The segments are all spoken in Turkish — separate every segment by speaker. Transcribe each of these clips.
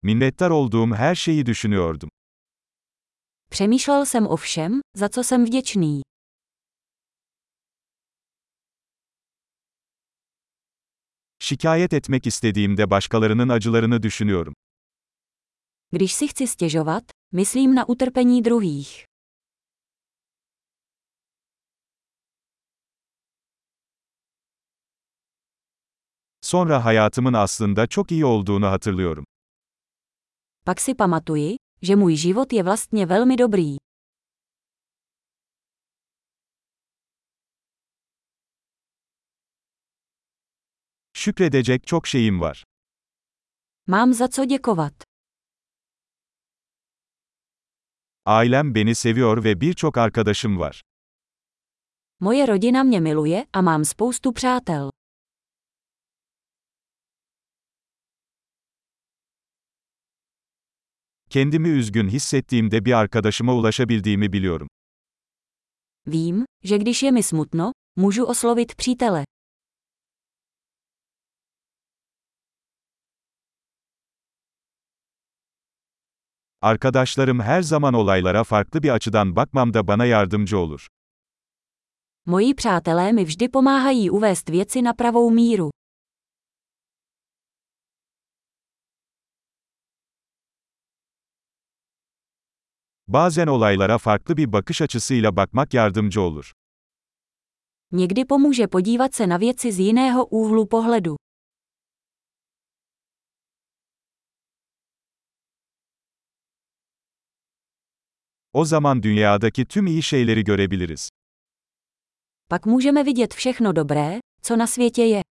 Speaker 1: Minnettar olduğum her şeyi düşünüyordum.
Speaker 2: Přemýšlel jsem o všem, za co jsem vděčný.
Speaker 1: Şikayet etmek istediğimde başkalarının acılarını düşünüyorum.
Speaker 2: Když si chci stěžovat, myslím na utrpení druhých.
Speaker 1: Sonra hayatımın aslında çok iyi olduğunu hatırlıyorum.
Speaker 2: Pak si pamatuji, že můj život je vlastně velmi dobrý.
Speaker 1: Şükredecek çok şeyim var.
Speaker 2: Mám za co děkovat.
Speaker 1: Ailem beni seviyor ve birçok arkadaşım var.
Speaker 2: Moje rodina mě miluje a mám spoustu přátel.
Speaker 1: Kendimi üzgün hissettiğimde bir arkadaşıma ulaşabildiğimi biliyorum.
Speaker 2: Vím, že když je mi smutno, můžu oslovit přítele.
Speaker 1: Arkadaşlarım her zaman olaylara farklı bir açıdan bakmamda bana yardımcı olur.
Speaker 2: Moji přátelé mi vždy pomáhají uvést věci na pravou míru.
Speaker 1: Bazen olaylara farklı bir bakış açısıyla bakmak yardımcı olur.
Speaker 2: Někdy pomůže podívat se na věci z jiného úhlu pohledu.
Speaker 1: O zaman dünyadaki tüm iyi şeyleri görebiliriz.
Speaker 2: Pak můžeme vidět všechno dobré, co na světě je.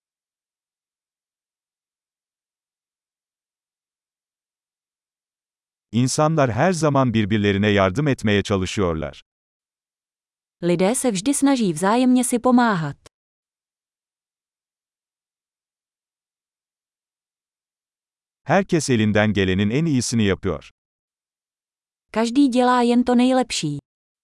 Speaker 1: İnsanlar her zaman birbirlerine yardım etmeye çalışıyorlar.
Speaker 2: Lidé se vždy snaží vzájemně si pomáhat.
Speaker 1: Herkes elinden gelenin en iyisini yapıyor.
Speaker 2: Každý dělá jen to nejlepší.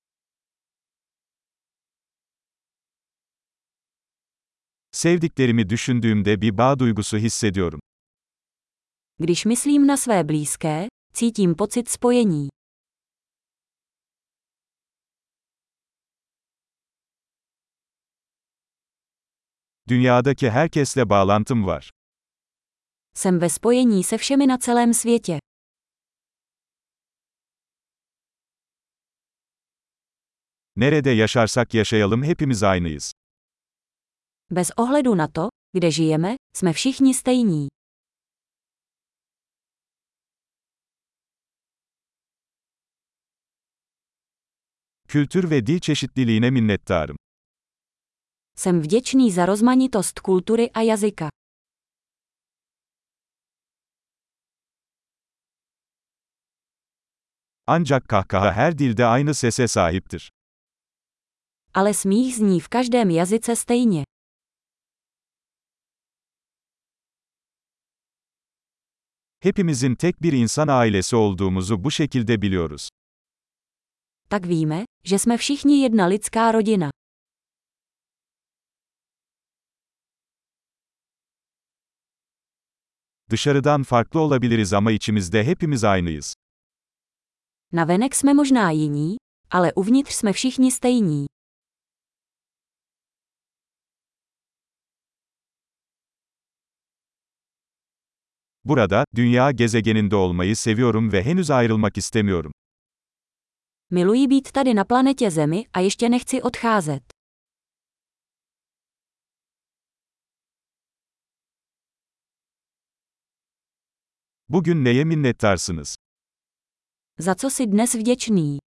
Speaker 1: Sevdiklerimi düşündüğümde bir bağ duygusu hissediyorum.
Speaker 2: Když myslím na své blízké, cítím pocit spojení.
Speaker 1: Dünyadaki herkesle bağlantım var.
Speaker 2: Jsem ve spojení se všemi na celém světě.
Speaker 1: Nerede yaşarsak yaşayalım hepimiz aynıyız.
Speaker 2: Bez ohledu na to, kde žijeme, jsme všichni stejní.
Speaker 1: Kültür ve dil çeşitliliğine minnettarım.
Speaker 2: Jsem vděčný za rozmanitost kultury a jazyka.
Speaker 1: Ancak kahkaha her dilde aynı sese sahiptir.
Speaker 2: Ale smích zní v každém jazyce stejně.
Speaker 1: Hepimizin tek bir insan ailesi olduğumuzu bu şekilde biliyoruz.
Speaker 2: Tak víme, že jsme všichni jedna lidská rodina.
Speaker 1: Dışarıdan farklı olabiliriz ama içimizde hepimiz aynıyız.
Speaker 2: Navenek jsme možná jiní, ale uvnitř jsme všichni stejní.
Speaker 1: Burada, dünya gezegeninde olmayı seviyorum ve henüz ayrılmak istemiyorum.
Speaker 2: Miluji být tady na planetě Zemi a ještě nechci odcházet.
Speaker 1: Bugün neye minnettarsınız?
Speaker 2: Za co si dnes vděčný?